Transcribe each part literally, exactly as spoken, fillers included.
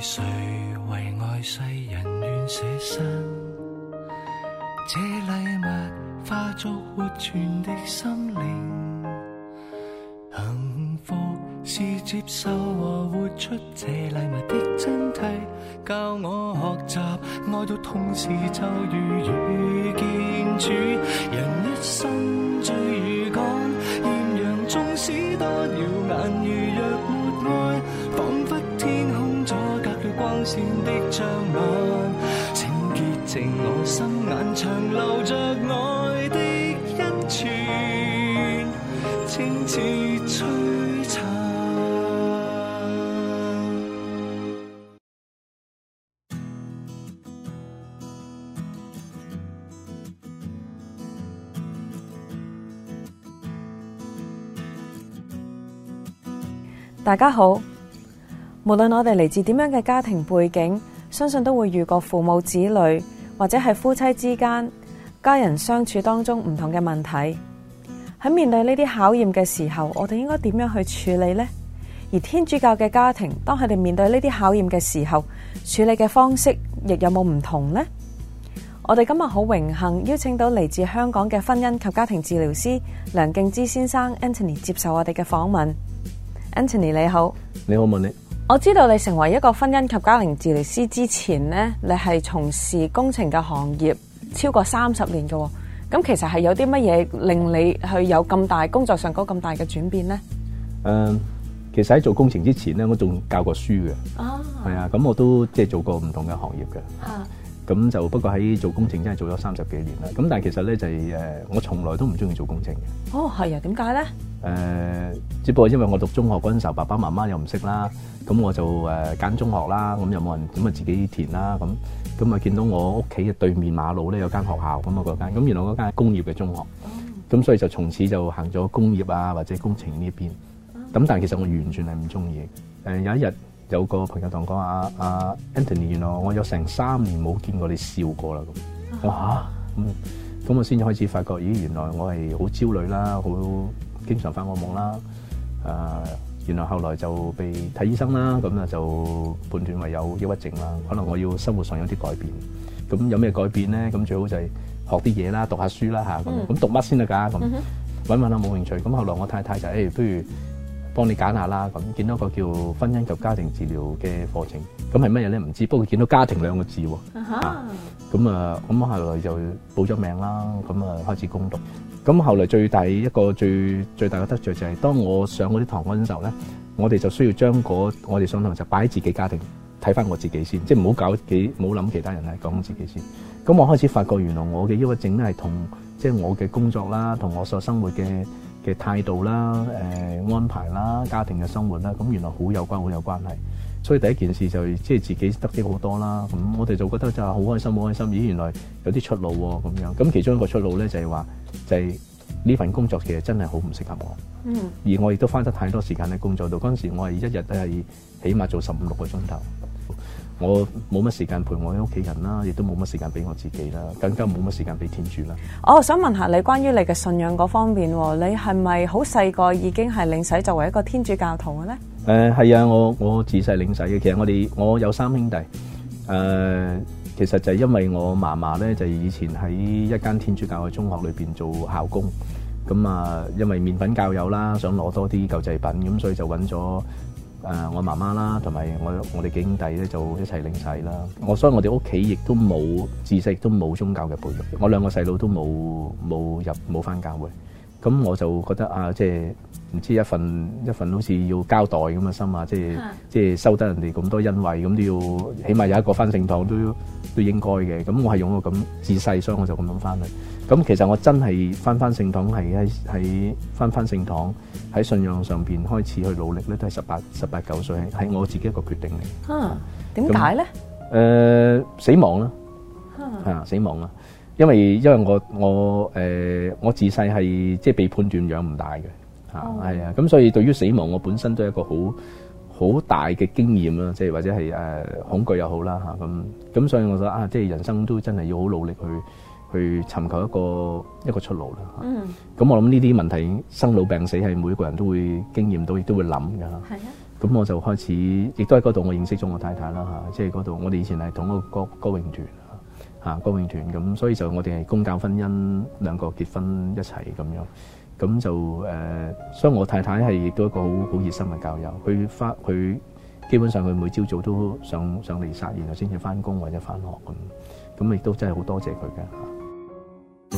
誰為愛世人願捨身？這禮物化作活存的心靈，幸福是接受和活出這禮物的真諦，教我學習愛到同時就如遇見主。人一生追與趕，豔陽縱使多耀眼，如若沒愛，彷彿天空阻隔了光線的障礙。請潔淨我心眼，長留着愛的恩泉，清似璀璨。 大家好，無論我哋嚟自點樣嘅家庭背景，相信都會遇過父母子女或者係夫妻之間家人相處當中唔同嘅問題。喺面對呢啲考驗嘅時候，我哋應該點樣去處理呢？而天主教嘅家庭當佢哋面對呢啲考驗嘅時候，處理嘅方式亦有冇唔同呢？我哋今日好榮幸邀請到嚟自香港嘅婚姻及家庭治療師梁敬之先生 Anthony 接受我哋嘅訪問。Anthony 你好。 你好，問你。 我知道你成為一個婚姻及家庭治療師之前呢，你係從事工程嘅行業超過三十年嘅。咁其實係有啲乜嘢令你去有咁大工作上嗰咁大嘅轉變呢？ 誒、呃，其實喺做工程之前咧，我仲教過書嘅。哦。係啊，咁我都即係做過唔同嘅行業嘅。啊。咁就不過喺做工程真係做咗三十幾年啦。咁但係其實咧就係、是、誒，我從來都唔中意做工程嘅。 哦，係啊，點解咧？誒、 呃，只不過因為我讀中學嗰陣時候，爸爸媽媽又唔識啦，咁我就誒揀、呃、中學啦，咁又冇人，咁啊自己填啦，咁咁啊見到我屋企嘅對面馬路咧有間學校，咁啊嗰間，咁原來嗰間係工業嘅中學，咁、哦、所以就從此就行咗工業啊或者工程呢邊。咁、哦、但係其實我完全係唔中意。誒、呃、有一日有個朋友同我講啊啊 Anthony， 原來我有成三年冇見過你笑過啦咁。我嚇咁咁我先至開始發覺，咦原來我係好焦慮啦，好經常發噩夢啦。誒、呃、原來後來就被睇醫生啦，咁啊就判斷為有抑鬱症啦。可能我要生活上有啲改變。咁有咩改變咧？咁最好就係學啲嘢啦，讀下書啦嚇咁。咁、嗯、讀乜先得㗎？咁揾揾下冇興趣。咁後來我太太就誒、欸，不如幫你揀下啦。咁見到個叫婚姻及家庭治療嘅課程，咁係乜嘢咧？唔知。不過見到家庭兩個字喎。咁啊，咁後來就報咗名啦。咁啊開始攻讀。咁後來最大一個最最大嘅得著就係，當我上嗰啲堂嗰陣時候咧，我哋就需要將嗰我哋上堂就擺喺自己家庭，睇翻我自己先，即係唔好搞幾唔好諗其他人，係講自己先。咁我開始發覺原來我嘅抑鬱症咧係同即係我嘅工作啦，同我所生活嘅嘅態度啦、誒安排啦、家庭嘅生活啦，咁原來好有關好有關係。所以第一件事就即係自己得益好多啦。咁我哋就覺得就係好開心好開心。咦，原來有啲出路喎咁樣。咁其中一個出路咧就係話，就係呢份工作其實真係好唔適合我。嗯。而我亦都花得太多時間喺工作度。嗰陣時我係一日都係起碼做十五六個鐘頭。我冇乜時間陪我嘅屋企人啦，亦都冇乜時間俾我自己啦，更加冇乜時間俾天主啦。 我想問下你關於你嘅信仰嗰方面，你係咪好細個已經係領洗作為一個天主教徒嘅咧？ 誒、呃、係啊，我我自細領洗嘅。其實我哋我有三兄弟。誒、呃，其實就係因為我嫲嫲咧，就以前喺一間天主教嘅中學裏邊做校工。咁啊，因為麵粉教友啦，想攞多啲救濟品，咁所以就揾咗誒我媽媽啦，同埋我我哋幾兄弟咧，就一齊領洗啦。我所以我哋屋企亦都冇自細亦都冇宗教嘅培育。我兩個細佬都冇冇入冇返教會。咁我就覺得啊，即係唔知一份一份好似要交代咁嘅心啊，即係即係收得人哋咁多恩惠，咁都要起碼有一個返聖堂都都應該嘅。咁我係用個咁自細，所以我就咁樣返去。咁其實我真係返返聖堂係喺喺返返聖堂喺信仰上邊開始去努力咧，都係十八十八九歲，係我自己一個決定嚟。嚇，點解咧？誒，死亡啦，嚇，死亡啦。因為因為我我誒、呃、我自細係即係被判斷養唔大嘅嚇，係啊，咁所以對於死亡我本身都係一個好好大嘅經驗啦，即係或者係誒、呃、恐懼又好啦嚇，咁咁所以我覺得啊，即係人生都真係要好努力去去尋求一個一個出路啦。嗯，咁我諗呢啲問題生老病死係每個人都會經驗到，亦都會諗㗎。係啊。 咁我就開始，亦都喺嗰度我認識咗我太太啦嚇，即係嗰度我哋以前係同一個歌歌詠團嚇，歌詠團咁，所以就我哋係公教婚姻兩個結婚一齊咁樣，咁就誒、呃，所以我太太係亦都一個好好熱心嘅教友，佢翻佢基本上佢每朝早都上上嚟撒，然後先至翻工或者翻學咁，咁亦都真係好多謝佢嘅。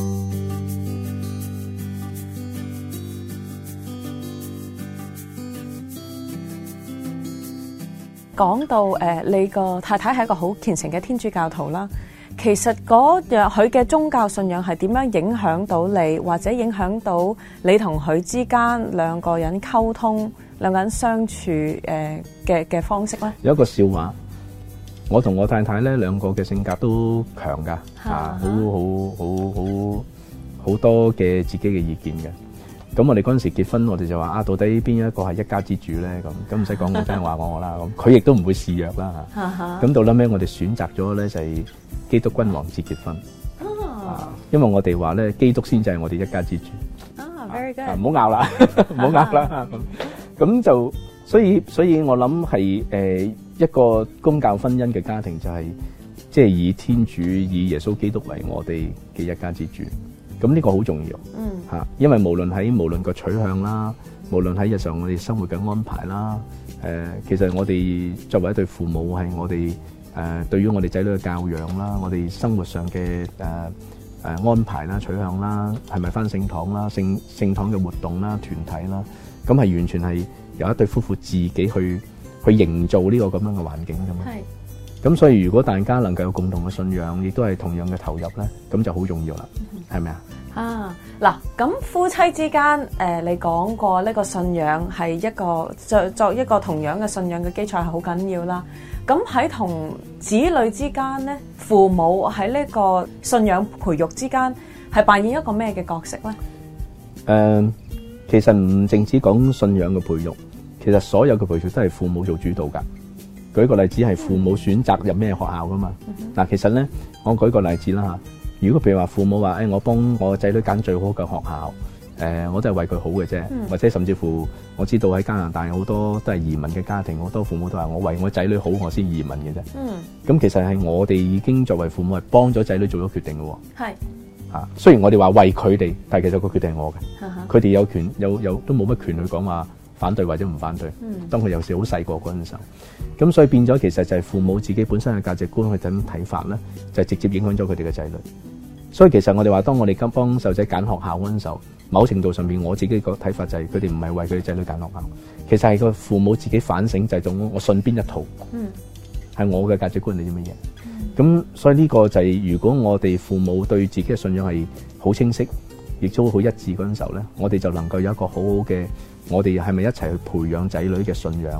講到誒、呃，你個太太係一個好虔誠嘅天主教徒啦。其實嗰樣佢嘅宗教信仰係點樣影響到你，或者影響到你同佢之間兩個人溝通、兩個人相處誒嘅嘅方式咧？有一個笑話，我同我太太咧兩個嘅性格都強噶，啊，好好好好好多嘅自己嘅意見嘅。咁我哋嗰陣時結婚，我哋就話啊，到底邊一個係一家之主咧？咁咁唔使講，我真係話我啦。咁佢亦都唔會示弱啦嚇。咁到撚尾，我哋選擇咗咧就係基督君王節結婚。啊，因為我哋話咧，基督先至係我哋一家之主。 啊 ，very good。 唔好拗啦，唔好拗啦。咁咁就所以所以我諗係誒一個公教婚姻嘅家庭，就係即係以天主以耶穌基督為我哋嘅一家之主。咁呢個好重要，嗯嚇，因為無論喺無論個取向啦，無論喺日常我哋生活嘅安排啦，誒、呃，其實我哋作為一對父母，係我哋誒、呃、對於我哋仔女嘅教養啦，我哋生活上嘅誒誒安排啦、取向啦，係咪返聖堂啦、聖聖堂嘅活動啦、團體啦，咁係完全係由一對夫婦自己去去營造呢個咁樣嘅環境㗎嘛。係。咁所以如果大家能夠有共同嘅信仰，亦都係同樣嘅投入咧，咁就好重要啦，係咪啊？啊，嗱，咁夫妻之間，誒、呃，你講過呢個信仰係一個作作一個同樣嘅信仰嘅基礎係好緊要啦。咁喺同子女之間咧，父母喺呢個信仰培育之間係扮演一個咩嘅角色咧？誒、呃，其實唔淨止講信仰嘅培育，其實所有嘅培育都係父母做主導噶。舉個例子係父母選擇入咩學校噶嘛？嗱、嗯，其實咧，我舉個例子啦嚇。如果譬如話父母話，誒、哎，我幫我仔女揀最好嘅學校，誒、呃，我都係為佢好嘅啫、嗯。或者甚至乎，我知道喺加拿大好多都係移民嘅家庭，好多父母都話我為我仔女好，我先移民嘅啫。嗯。咁其實係我哋已經作為父母係幫咗仔女做咗決定嘅喎。係。嚇，雖然我哋話為佢哋，但係其實個決定係我嘅。佢、嗯、哋有權有有都冇乜權去講話反對或者唔反對。嗯。當佢有時好細個嗰陣時候。咁所以變咗，其實就係父母自己本身嘅價值觀去點睇法咧，就係、直接影響咗佢哋嘅仔女。所以其實我哋話，當我哋今幫細路仔揀學校嗰陣時候，某程度上邊我自己個睇法就係，佢哋唔係為佢哋仔女揀學校，其實係個父母自己反省，就係到我信邊一套，嗯，係我嘅價值觀係啲乜嘢。咁、嗯、所以呢個就係、是，如果我哋父母對自己嘅信仰係好清晰，亦都好一致嗰陣時候咧，我哋就能夠有一個好好嘅，我哋係咪一齊去培養仔女嘅信仰？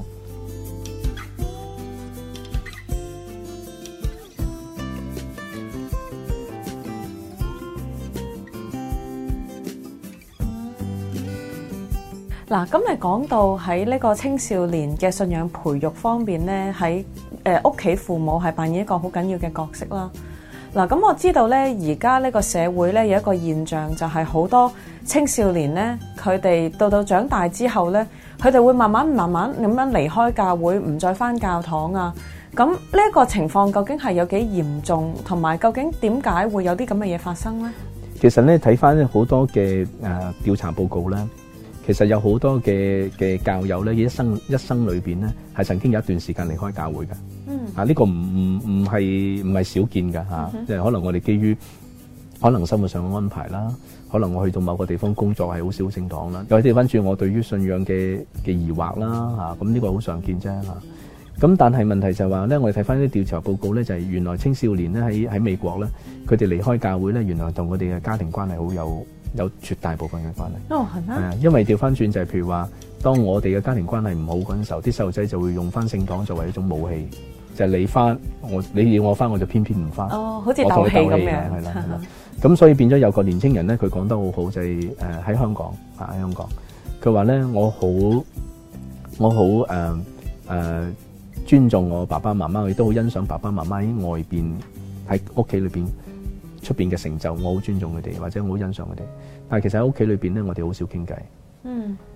嗱，咁你講到喺呢個青少年嘅信仰培育方面咧，喺誒屋企父母係扮演一個好緊要嘅角色啦。嗱，咁我知道咧，而家呢個社會咧有一個現象，就係好多青少年咧，佢哋到到長大之後咧，佢哋會慢慢慢慢咁樣離開教會，唔再返教堂啊。咁呢一個情況究竟係有幾嚴重，同埋究竟點解會有啲咁嘅嘢發生咧？其實咧睇返好多嘅誒調查報告咧。其實有好多嘅嘅教友咧，一生一生裏邊咧，係曾經有一段時間離開教會嘅。嗯，啊呢、這個唔唔唔係唔係少見㗎嚇，即、啊、係、嗯、可能我哋基於可能生活上嘅安排啦，可能我去到某個地方工作係好少聖堂啦，又調翻轉我對於信仰嘅嘅疑惑啦嚇，咁、啊、呢個好常見啫嚇。咁、啊、但係問題就係話咧，我哋睇翻啲調查報告咧，就係、是、原來青少年咧喺喺美國咧，佢哋離開教會咧，原來同佢哋嘅家庭關係好有。有絕大部分嘅關係。哦，係咩？係啊，因為調翻轉就係譬如話，當我哋嘅家庭關係唔好嗰陣時候，啲細路仔就會用翻聖堂作為一種武器，就係、是、你翻我，你要我翻我就偏偏唔翻。哦，好似鬥氣咁樣。係啦，係啦。咁所以變咗有個年青人咧，佢講得好好，就係誒喺香港啊，喺香港，佢話咧我好我好誒誒尊重我爸爸媽媽，亦都好欣賞爸爸媽媽喺外邊喺屋企裏邊。出邊嘅成就，我好尊重佢哋，或者我好欣賞佢哋。但係其實喺屋企裏邊咧，我哋好少傾偈。嗯，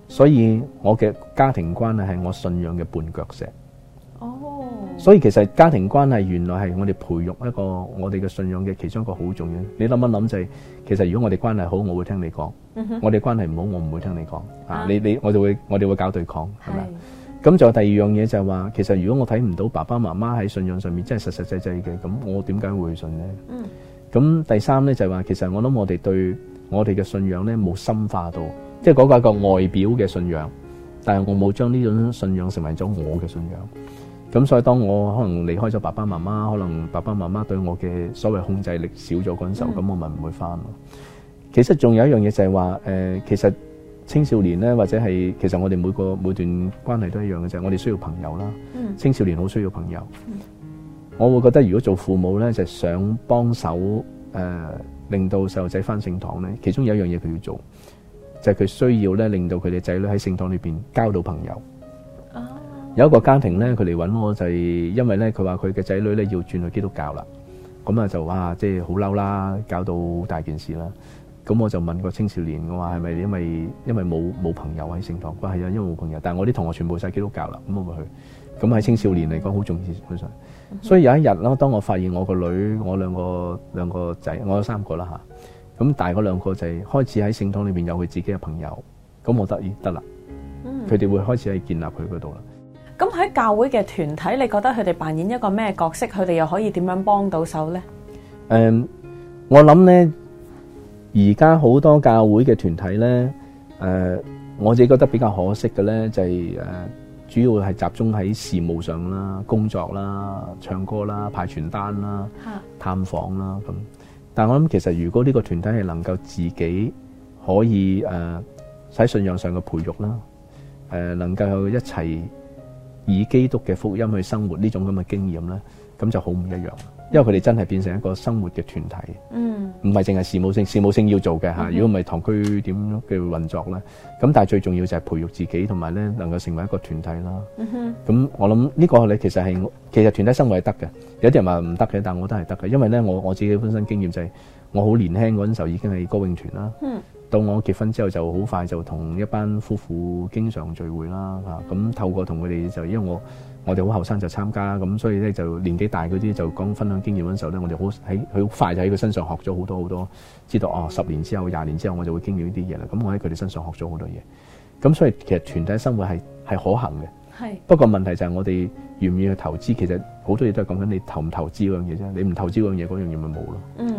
所以我嘅家庭關係係我信仰嘅絆腳石。 哦， 所以其實家庭關係原來係我哋培育一個我哋嘅信仰嘅其中一個好重要。你諗一諗就係、是，其實如果我哋關係好，我會聽你講； 嗯、哼我哋關係唔好，我唔會聽你講。啊， 啊你你我哋會我哋會搞對抗，係咪？咁仲有第二樣嘢就係話，其實如果我睇唔到爸爸媽媽喺信仰上面真係實實際際嘅，咁我點解會信呢？ 嗯。 咁第三咧就係話，其實我諗我哋對我哋嘅信仰咧冇深化到，即係嗰個係一個外表嘅信仰，但係我冇將呢種信仰成為咗我嘅信仰。咁所以當我可能離開咗爸爸媽媽，可能爸爸媽媽對我嘅所謂控制力少咗嗰陣時候，咁、嗯、我咪唔會翻咯。其實仲有一樣嘢就係話，誒、呃，其實青少年咧，或者係其實我哋每個每段關係都一樣嘅就係，我哋需要朋友啦。嗯、青少年好需要朋友。嗯、我會覺得如果做父母咧，就係、想幫手誒，令到細路仔翻聖堂咧，其中有一樣嘢佢要做，就係、是、佢需要咧，令到佢哋仔女喺聖堂裏邊交到朋友。有一個家庭咧，佢嚟揾我就係因為咧，佢話佢嘅仔女咧要轉去基督教啦，咁啊就哇，即係好嬲啦，搞到好大件事啦。咁我就問個青少年，我話係咪因為因為冇冇朋友喺聖堂？佢話係啊，因為冇朋友。但係我啲同學全部晒基督教啦，咁我咪去。咁喺青少年嚟講好重要，基本上。所以有一日啦，當我發現我個女，我兩個兩個仔，我有三個啦吓。咁大嗰兩個就係開始喺聖堂裏邊有佢自己嘅朋友，咁我得意得啦，佢哋會開始喺建立佢嗰度啦。 咁喺教會嘅團體，你覺得佢哋扮演一個咩角色？佢哋又可以點樣幫到手咧？誒、um, 我諗咧，而家好多教會嘅團體咧，誒、呃，我自己覺得比較可惜嘅咧，就係、是、誒、呃，主要係集中喺事務上啦、工作啦、唱歌啦、派傳單啦、探訪啦咁。但係我諗，其實如果呢個團體係能夠自己可以誒喺、呃、信仰上嘅培育啦，誒、呃，能夠一齊以基督嘅福音去生活呢種咁嘅經驗咧，咁就好唔一樣。因為佢哋真係變成一個生活嘅團體，嗯，唔係淨係事務性，事務性要做嘅吓。如果唔係堂區點樣嘅運作咧，咁但係最重要就係培育自己，同埋咧能夠成為一個團體啦。咁、嗯、我諗呢個你其實係，其實團體生活係得嘅。有啲人話唔得嘅，但我都係得嘅。因為咧，我我自己本身經驗就係、是，我好年輕嗰陣時候已經係歌詠團啦。嗯，到我結婚之後就好快就同一班夫婦經常聚會啦。吓，咁透過同佢哋就因為我。我哋好後生就參加，咁所以咧就年紀大嗰啲就講分享經驗嗰陣時候咧，我哋好喺佢好快就喺佢身上學咗好多好多，知道哦十年之後、廿年之後我就會經歷呢啲嘢啦。咁我喺佢哋身上學咗好多嘢，咁所以其實團體生活係係可行嘅。係。不過問題就係我哋願唔願意去投資，其實好多嘢都係講緊你投唔投資嗰樣嘢啫。你唔投資嗰樣嘢，嗰樣嘢咪冇咯。嗯。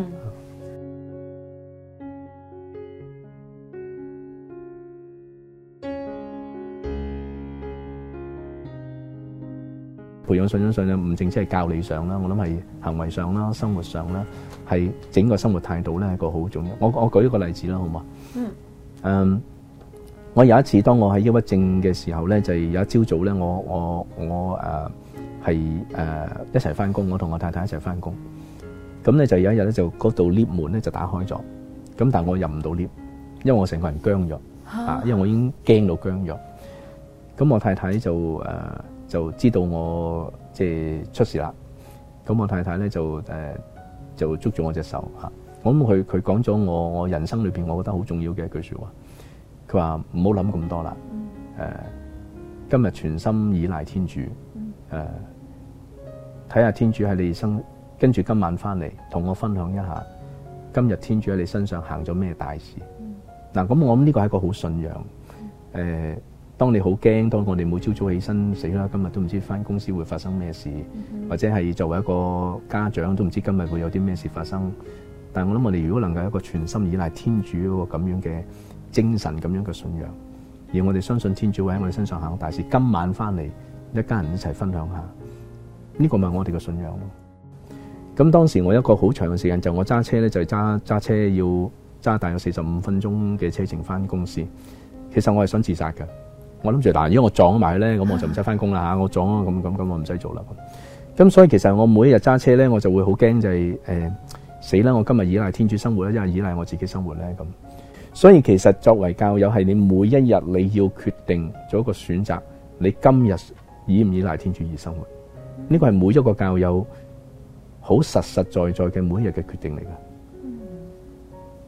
培養信仰上咧，唔淨止係教理上啦，我諗係行為上啦、生活上啦，係整個生活態度咧係一個好重要。我我舉一個例子啦，好嘛？嗯。Um, 我有一次當我喺抑鬱症嘅時候咧，就係、是、有一朝早咧，我我我誒係誒一齊翻工，我同我太太一齊翻工。咁咧就有一日咧，就嗰度 lift 門咧就打開咗，咁但係我入唔到 lift，因為我成個人僵咗啊，因為我已經驚到僵咗。咁我太太就誒。呃就知道我即係出事啦，咁我太太咧就誒、呃、就捉住我隻手嚇，我諗佢佢講咗我我人生裏邊我覺得好重要嘅一句説話，佢話唔好諗咁多啦，誒、呃、今日全心倚賴天主，誒睇下天主喺你生，跟住今晚翻嚟同我分享一下今日天主喺你身上行咗咩大事。嗱、嗯，咁我諗呢個係一個好信仰誒。呃當你好驚，當我哋每朝早起身死啦，今日都唔知翻公司會發生咩事，嗯、或者係作為一個家長都唔知今日會有啲咩事發生。但係我諗我哋如果能夠有一個全心倚賴天主嗰個咁樣嘅精神，咁樣嘅信仰，而我哋相信天主會喺我哋身上行大事，今晚翻嚟一家人一齊分享下，呢、這個咪我哋嘅信仰咯。咁當時我一個好長嘅時間就我揸車咧，就係揸揸車要揸大約四十五分鐘嘅車程翻公司。其實我係想自殺嘅。我諗住嗱，如果我撞埋咧，咁我就唔使翻工啦吓。我撞啊，咁咁咁，我唔使做啦。咁所以其實我每一日揸車咧，我就會好驚就係誒死啦！我今日依賴天主生活咧，因為依賴我自己生活咧咁。所以其實作為教友，係你每一日你要決定做一個選擇，你今日依唔依賴天主而生活？呢個係每一個教友好實實在在嘅每一日嘅決定嚟㗎。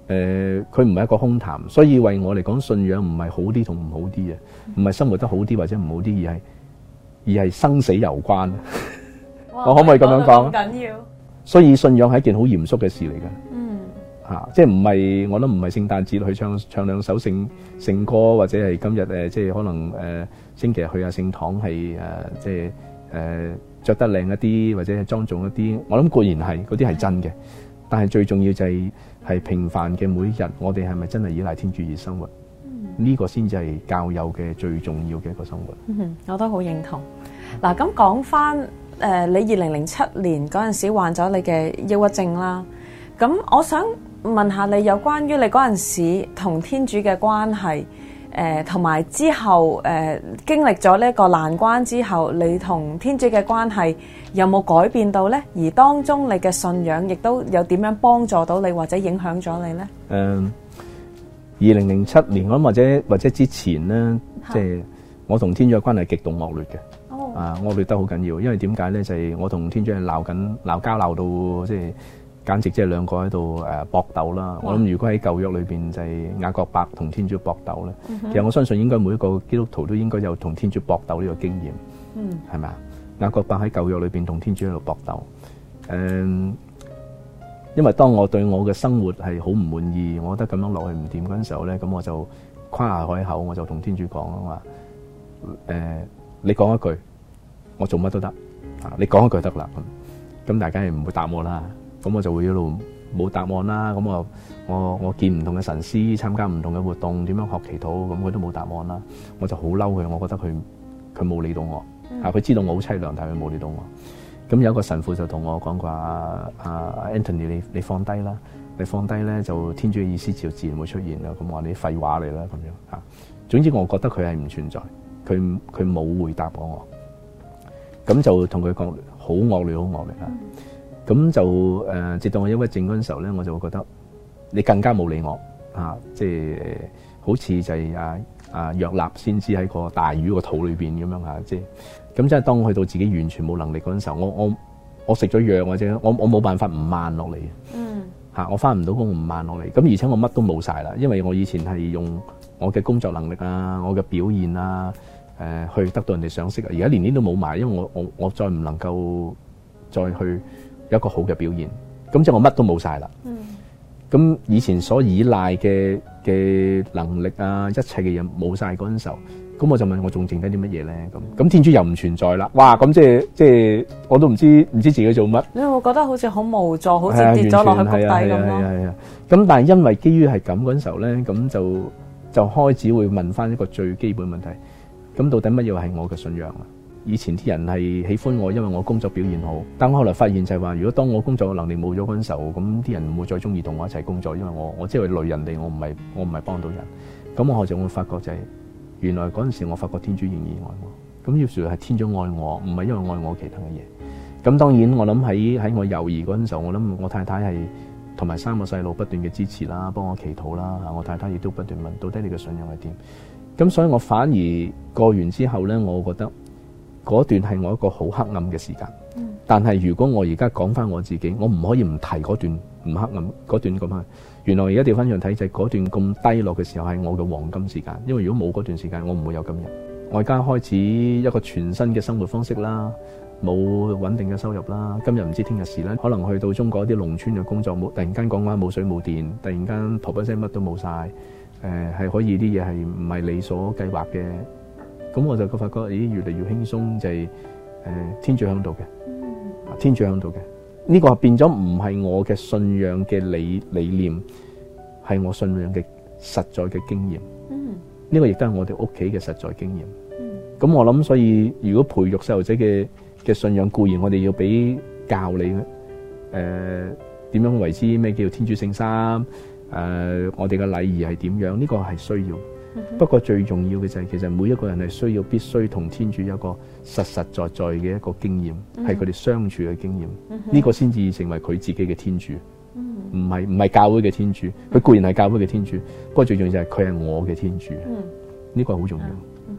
誒佢唔係一個空談，所以為我嚟講，信仰唔係好啲同唔好啲嘅，唔係生活得好啲或者唔好啲，而係而係生死攸關。我可唔可以咁樣講？ 緊要。 所以信仰係一件好嚴肅嘅事嚟嘅。 嗯。 嚇、啊，即係唔係我諗唔係聖誕節去唱唱兩首聖聖歌，或者係今日誒、呃，即係可能誒、呃、星期日去下聖堂係誒、呃，即係誒著得靚一啲，或者係莊重一啲。我諗固然係嗰啲係真嘅，但係最重要就係係平凡嘅每一日，我哋係咪真係依賴天主而生活？呢、嗯、個先至係教友嘅最重要嘅一個生活。 嗯，我都好認同。嗱，咁講翻誒，你二零零七年嗰陣時患咗你嘅抑鬱症啦。咁我想問下你有關於你嗰陣時同天主嘅關係，誒同埋之後誒、呃、經歷咗呢個難關之後，你同天主嘅關係有冇改變到呢？而當中你嘅信仰亦都有點樣幫助到你或者影響咗你呢？ 誒，二零零七年我諗或者或者之前呢，即係我同天主嘅關係極度惡劣嘅。哦、啊，惡劣得好緊要，因為點解呢？就係、是、我同天主係鬧緊鬧交鬧到即係。簡直即係兩個喺度誒搏鬥啦！我諗如果喺舊約裏邊就係雅各伯同天主搏鬥咧，嗯、其實我相信應該每一個基督徒都應該有同天主搏鬥呢個經驗，嗯，係咪啊？雅各伯喺舊約裏邊同天主喺度搏鬥，誒、嗯，因為當我對我嘅生活係好唔滿意，我覺得咁樣落去唔掂嗰陣時候咧，咁我就誇下海口，我就同天主講啊話，誒、呃，你講一句，我做乜都得啊！你講一句得啦，咁咁大家係唔會答我啦。咁我就會一路冇答案啦。咁我我我見唔同嘅神師，參加唔同嘅活動，點樣學祈禱，咁佢都冇答案啦。我就好嬲佢，我覺得佢佢冇理到我。啊，佢知道我好凄涼，但係佢冇理到我。咁有一個神父就同我講過：啊啊 Anthony，你你放低啦，你放低咧就天主嘅意思就自然會出現啦。咁我話你廢話嚟啦，咁樣嚇。總之我覺得佢係唔存在，佢佢冇回答過我。咁就同佢講好惡劣，好惡劣啦。咁就誒、呃，直到我抑鬱症嗰陣時候咧，我就會覺得你更加冇理我啊！即係好似就係啊啊約納先知喺個大魚個肚裏邊咁樣嚇，即係咁即係當我去到自己完全冇能力嗰陣時候，我我我食咗藥或者我我冇辦法唔慢落嚟，嗯嚇，我翻唔到工唔慢落嚟，咁而且我乜都冇晒啦，因為我以前係用我嘅工作能力啊，我嘅表現啊，誒、呃、去得到人哋賞識啊，而家連呢都冇埋，因為我我我再唔能夠再去。有一個好嘅表現，咁即係我乜都冇晒啦。咁、嗯、以前所依賴嘅嘅能力啊，一切嘅嘢冇晒嗰陣時候，咁我就問我仲剩低啲乜嘢咧？咁咁天主又唔存在啦。哇！咁即係即係我都唔知唔知自己做乜。你會覺得好似好無助，好似跌咗落去谷底咁咯。係啊係啊。咁但係因為基於係咁嗰陣時候咧，咁就就開始會問翻一個最基本問題。咁到底乜嘢係我嘅信仰啊？以前啲人係喜歡我，因為我工作表現好。但我後來發現就係話，如果當我工作嘅能力冇咗嗰陣時候，咁啲人唔會再中意同我一齊工作，因為我我即係累人哋，我唔係我唔係幫到人。咁我後就會發覺就係、是、原來嗰陣時我發覺天主仍然愛我。咁於是係天主愛我，唔係因為愛我其他嘅嘢。咁當然我諗喺喺我猶豫嗰陣時候，我諗我太太係同埋三個細路不斷嘅支持啦，幫我祈禱啦。我太太亦都不斷問到底你嘅信仰係點。咁所以我反而過完之後咧，我覺得。嗰段係我一個好黑暗嘅時間，嗯、但係如果我而家講翻我自己，我唔可以唔提嗰段唔黑暗嗰段咁啊。原來而家調翻轉睇就係嗰段咁低落嘅時候係我嘅黃金時間，因為如果冇嗰段時間，我唔會有今日。我而家開始一個全新嘅生活方式啦，冇穩定嘅收入啦，今日唔知聽日事啦，可能去到中國一啲農村嘅工作冇，突然間講話冇水冇電，突然間噗一聲乜都冇晒，誒、呃、係可以啲嘢係唔係你所計劃嘅。咁我就發覺，咦，越嚟越輕鬆，就係、是、誒、呃、天主喺度嘅，天主喺度嘅。呢、這個變咗唔係我嘅信仰嘅理理念，係我信仰嘅實在嘅經驗。嗯，呢個亦都係我哋屋企嘅實在經驗。嗯，咁我諗，所以如果培育細路仔嘅嘅信仰，固然我哋要俾教你誒點樣為之咩叫天主聖三，誒、呃、我哋嘅禮儀係點樣？呢、這個係需要。不過最重要嘅就係，其實每一個人係需要必須同天主有一個實實在在嘅一個經驗，係佢哋相處嘅經驗。呢、嗯、個先至成為佢自己嘅天主，唔係唔係教會嘅天主。佢固然係教會嘅天主，不過最重要就係佢係我嘅天主。呢、嗯、個好重要。嗯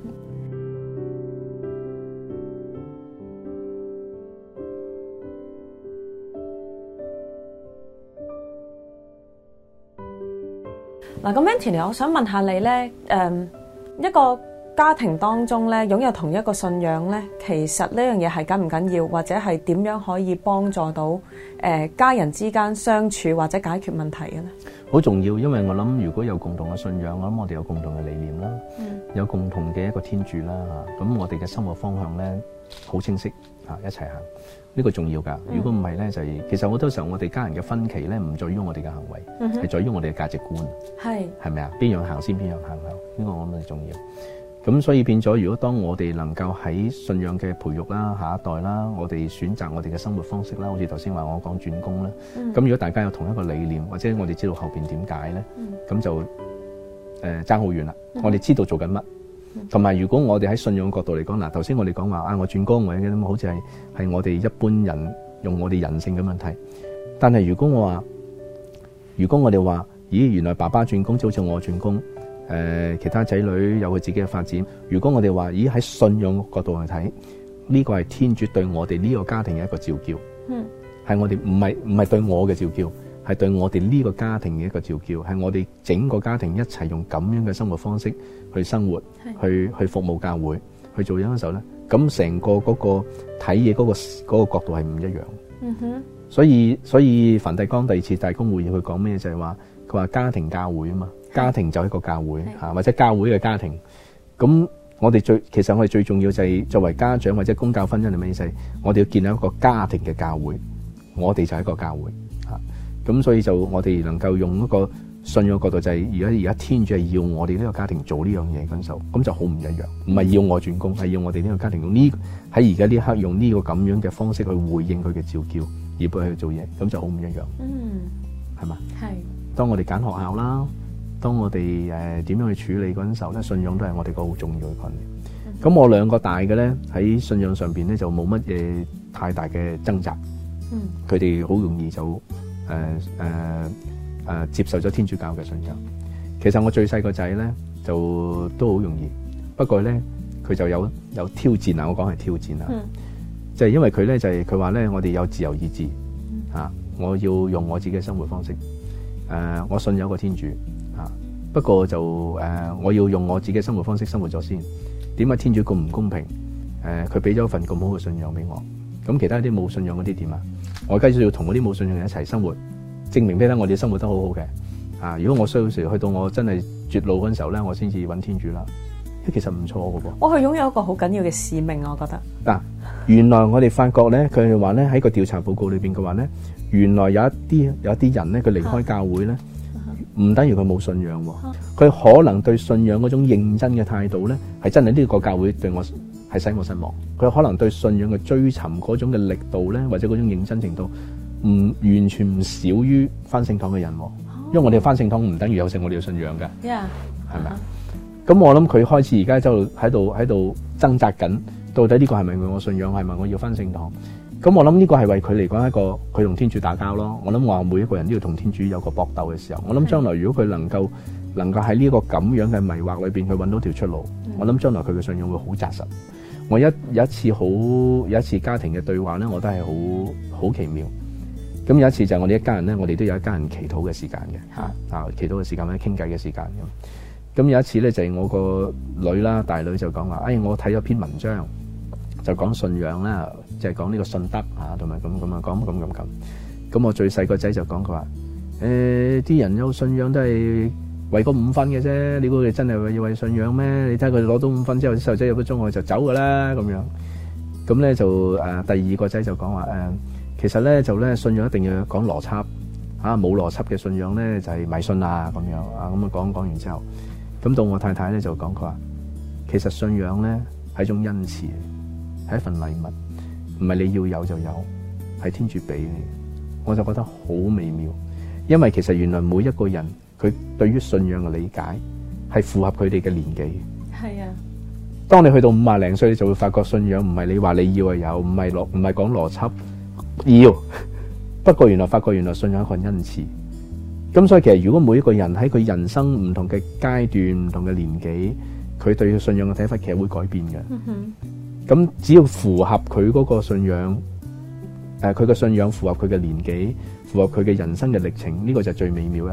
嗱，咁 Anthony，我想問下你咧，誒一個家庭當中咧，擁有同一個信仰咧，其實呢樣嘢係緊唔緊要，或者係點樣可以幫助到誒、呃、家人之間相處或者解決問題嘅咧？ 好重要，因為我諗如果有共同嘅信仰，我諗我哋有共同嘅理念啦， 嗯、 有共同嘅一個天主啦嚇，咁我哋嘅生活方向咧好清晰嚇，一齊行，呢個重要㗎。如果唔係咧，就係其實好多時候我哋家人嘅分歧咧，唔在於我哋嘅行為，係、嗯、在於我哋嘅價值觀，係係咪啊？邊樣行先，邊樣行後，呢個我諗係重要。咁所以變咗，如果當我哋能夠喺信仰嘅培育啦、下一代啦，我哋選擇我哋嘅生活方式啦，好似頭先話我講轉工啦。咁、嗯、如果大家有同一個理念，或者我哋知道後邊點解咧，咁、嗯、就誒爭好遠啦。嗯、我哋知道做緊乜，同、嗯、埋如果我哋喺信仰角度嚟講，嗱頭先我哋講話啊，我轉工或者咁，好似係係我哋一般人用我哋人性咁樣睇。但係如果我話，如果我哋話，咦，原來爸爸轉工就好似我轉工。誒、呃，其他仔女有佢自己嘅發展。如果我哋話，咦喺信仰角度去睇，呢、這個係天主對我哋呢個家庭嘅一個召叫，嗯，係我哋唔係唔係對我嘅召叫，係對我哋呢個家庭嘅一個召叫，係我哋整個家庭一齊用咁樣嘅生活方式去生活，去去服務教會，去做嘢嘅時候咧，咁成個嗰個睇嘢嗰個嗰、那個角度係唔一樣。嗯哼，所以所以梵蒂岡第二次大公會議佢講咩就係話，佢話家庭教會啊嘛。家庭就係一個教會嚇，或者教會嘅家庭。咁我哋最其實我哋最重要就係作為家長或者公教婚姻係咩意思？我哋要建立一個家庭嘅教會，我哋就係一個教會嚇。咁所以就我哋能夠用一個信仰角度，就係而家而家天主係要我哋呢個家庭做呢樣嘢嗰陣時候，咁就好唔一樣。唔係要我轉工，係要我哋呢個家庭用呢喺而家呢一刻用呢個咁樣嘅方式去回應佢嘅召叫，而幫佢去做嘢，咁就好唔一樣。嗯，係嘛？係。當我哋揀學校啦。當我哋誒點樣去處理嗰陣時候咧，信仰都係我哋個好重要嘅概念。咁、嗯、我兩個大嘅咧喺信仰上邊咧就冇乜嘢太大嘅掙扎。嗯，佢哋好容易就誒誒誒接受咗天主教嘅信仰。其實我最細個仔咧就都好容易，不過咧佢就有有挑戰啊！我講係挑戰啊，就係、是、因為佢咧就係佢話咧，我哋有自由意志啊，我要用我自己嘅生活方式。誒、呃，我信有個天主。不過就誒、呃，我要用我自己嘅生活方式生活咗先。點解天主咁唔公平？誒、呃，佢俾咗份咁好嘅信仰俾我，咁其他啲冇信仰嗰啲點啊？我而家要同嗰啲冇信仰人一齊生活，證明俾得我哋生活得好好嘅。啊，如果我需要時去到我真係絕路嗰陣時候咧，我先至揾天主啦。其實唔錯嘅噃。我係擁有一個好緊要嘅使命，我覺得。嗱、啊，原來我哋發覺咧，佢哋話咧喺個調查報告裏邊嘅話咧，原來有一啲有一啲人咧，佢離開教會咧。唔等於佢冇信仰喎，佢可能對信仰嗰種認真嘅態度咧，係真係呢個教會對我係使我失望。佢可能對信仰嘅追尋嗰種嘅力度咧，或者嗰種認真程度，唔完全唔少於返聖堂嘅人。因為我哋返聖堂唔等於有聖我哋嘅信仰嘅，係咪啊？咁我諗佢開始而家就喺度喺度掙扎緊，到底呢個係咪我信仰，係咪我要返聖堂？咁我諗呢個係為佢嚟講一個佢同天主打交咯。我諗話每一個人都要同天主有個搏鬥嘅時候。我諗將來如果佢能夠能夠喺呢個咁樣嘅迷惑裏邊去揾到條出路，我諗將來佢嘅信仰會好紮實。我一有一次好有一次家庭嘅對話咧，我都係好好奇妙。咁有一次就係我哋一家人咧，我哋都有一家人祈禱嘅時間嘅嚇啊，祈禱嘅時間或者傾偈嘅時間咁。咁有一次咧就係我個女啦，大女就講話，哎，我睇咗篇文章。就講信仰啦，就係講呢個信德啊，同埋咁咁啊，講咁咁咁。咁我最細個仔就講佢話：誒，啲人有信仰都係為嗰五分嘅啫。你估佢真係要為信仰咩？你睇佢攞到五分之後，啲細路仔入咗中學就走噶啦咁樣。咁咧就誒，第二個仔就講話誒，其實咧就咧信仰一定要講邏輯嚇，冇邏輯嘅信仰咧就係迷信啊咁樣啊。咁啊講講完之後，咁到我太太咧就講佢話，其實信仰咧係一種恩賜。係一份禮物，唔係你要有就有，係天主俾你。我就覺得好微妙，因為其實原來每一個人佢對於信仰嘅理解係符合佢哋嘅年紀。係啊，當你去到五廿零歲，你就會發覺信仰唔係你話你要就有，唔係邏唔係講邏輯要。不過原來發覺原來信仰係一個恩賜。咁所以其實如果每一個人喺佢人生唔同嘅階段、唔同嘅年紀，佢對信仰嘅睇法其實會改變嘅。嗯哼。咁只要符合佢嗰個信仰，誒佢嘅信仰符合佢嘅年紀，符合佢嘅人生嘅歷程，呢、這個就係最美妙一刻。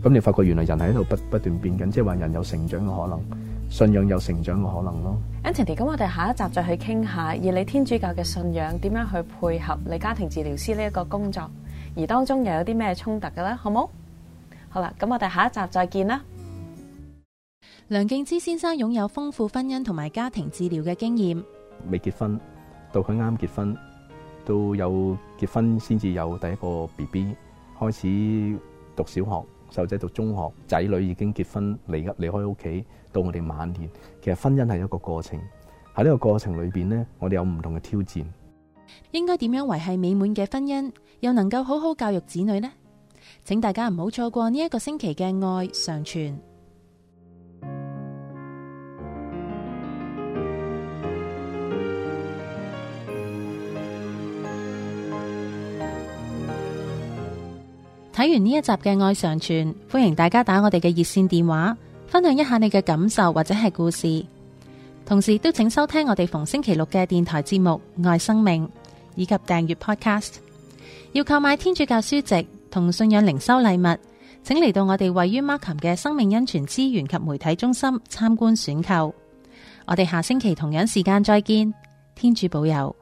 咁你發覺原來人係喺度不不斷變緊，即係話人有成長嘅可能，信仰有成長嘅可能咯。 Anthony，咁我哋下一集再去傾下，以你天主教嘅信仰點樣去配合你家庭治療師呢一個工作，而當中又有啲咩衝突嘅咧？好冇？好啦，咁我哋下一集再見啦。 梁敬之先生擁有豐富婚姻同埋家庭治療嘅經驗， 未結婚到佢啱結婚，到有結婚先至有第一個 B B， 開始讀小學，細路仔讀中學，仔女已經結婚離離開屋企，到我哋晚年，其實婚姻係一個過程。喺呢個過程裏邊呢，我哋有唔同嘅挑戰。 應該點樣維繫美滿嘅婚姻，又能夠好好教育子女呢？請大家唔好錯過呢一個星期嘅愛常傳。睇完呢一集嘅愛常傳，歡迎大家打我哋嘅熱線電話，分享一下你嘅感受或者係故事。同時都請收聽我哋逢星期六嘅電台節目《愛生命》，以及訂閱 Podcast。要購買天主教書籍同信仰靈修禮物，請嚟到我哋位於 Markham 嘅生命恩泉資源及媒體中心參觀選購。我哋下星期同樣時間再見，天主保佑。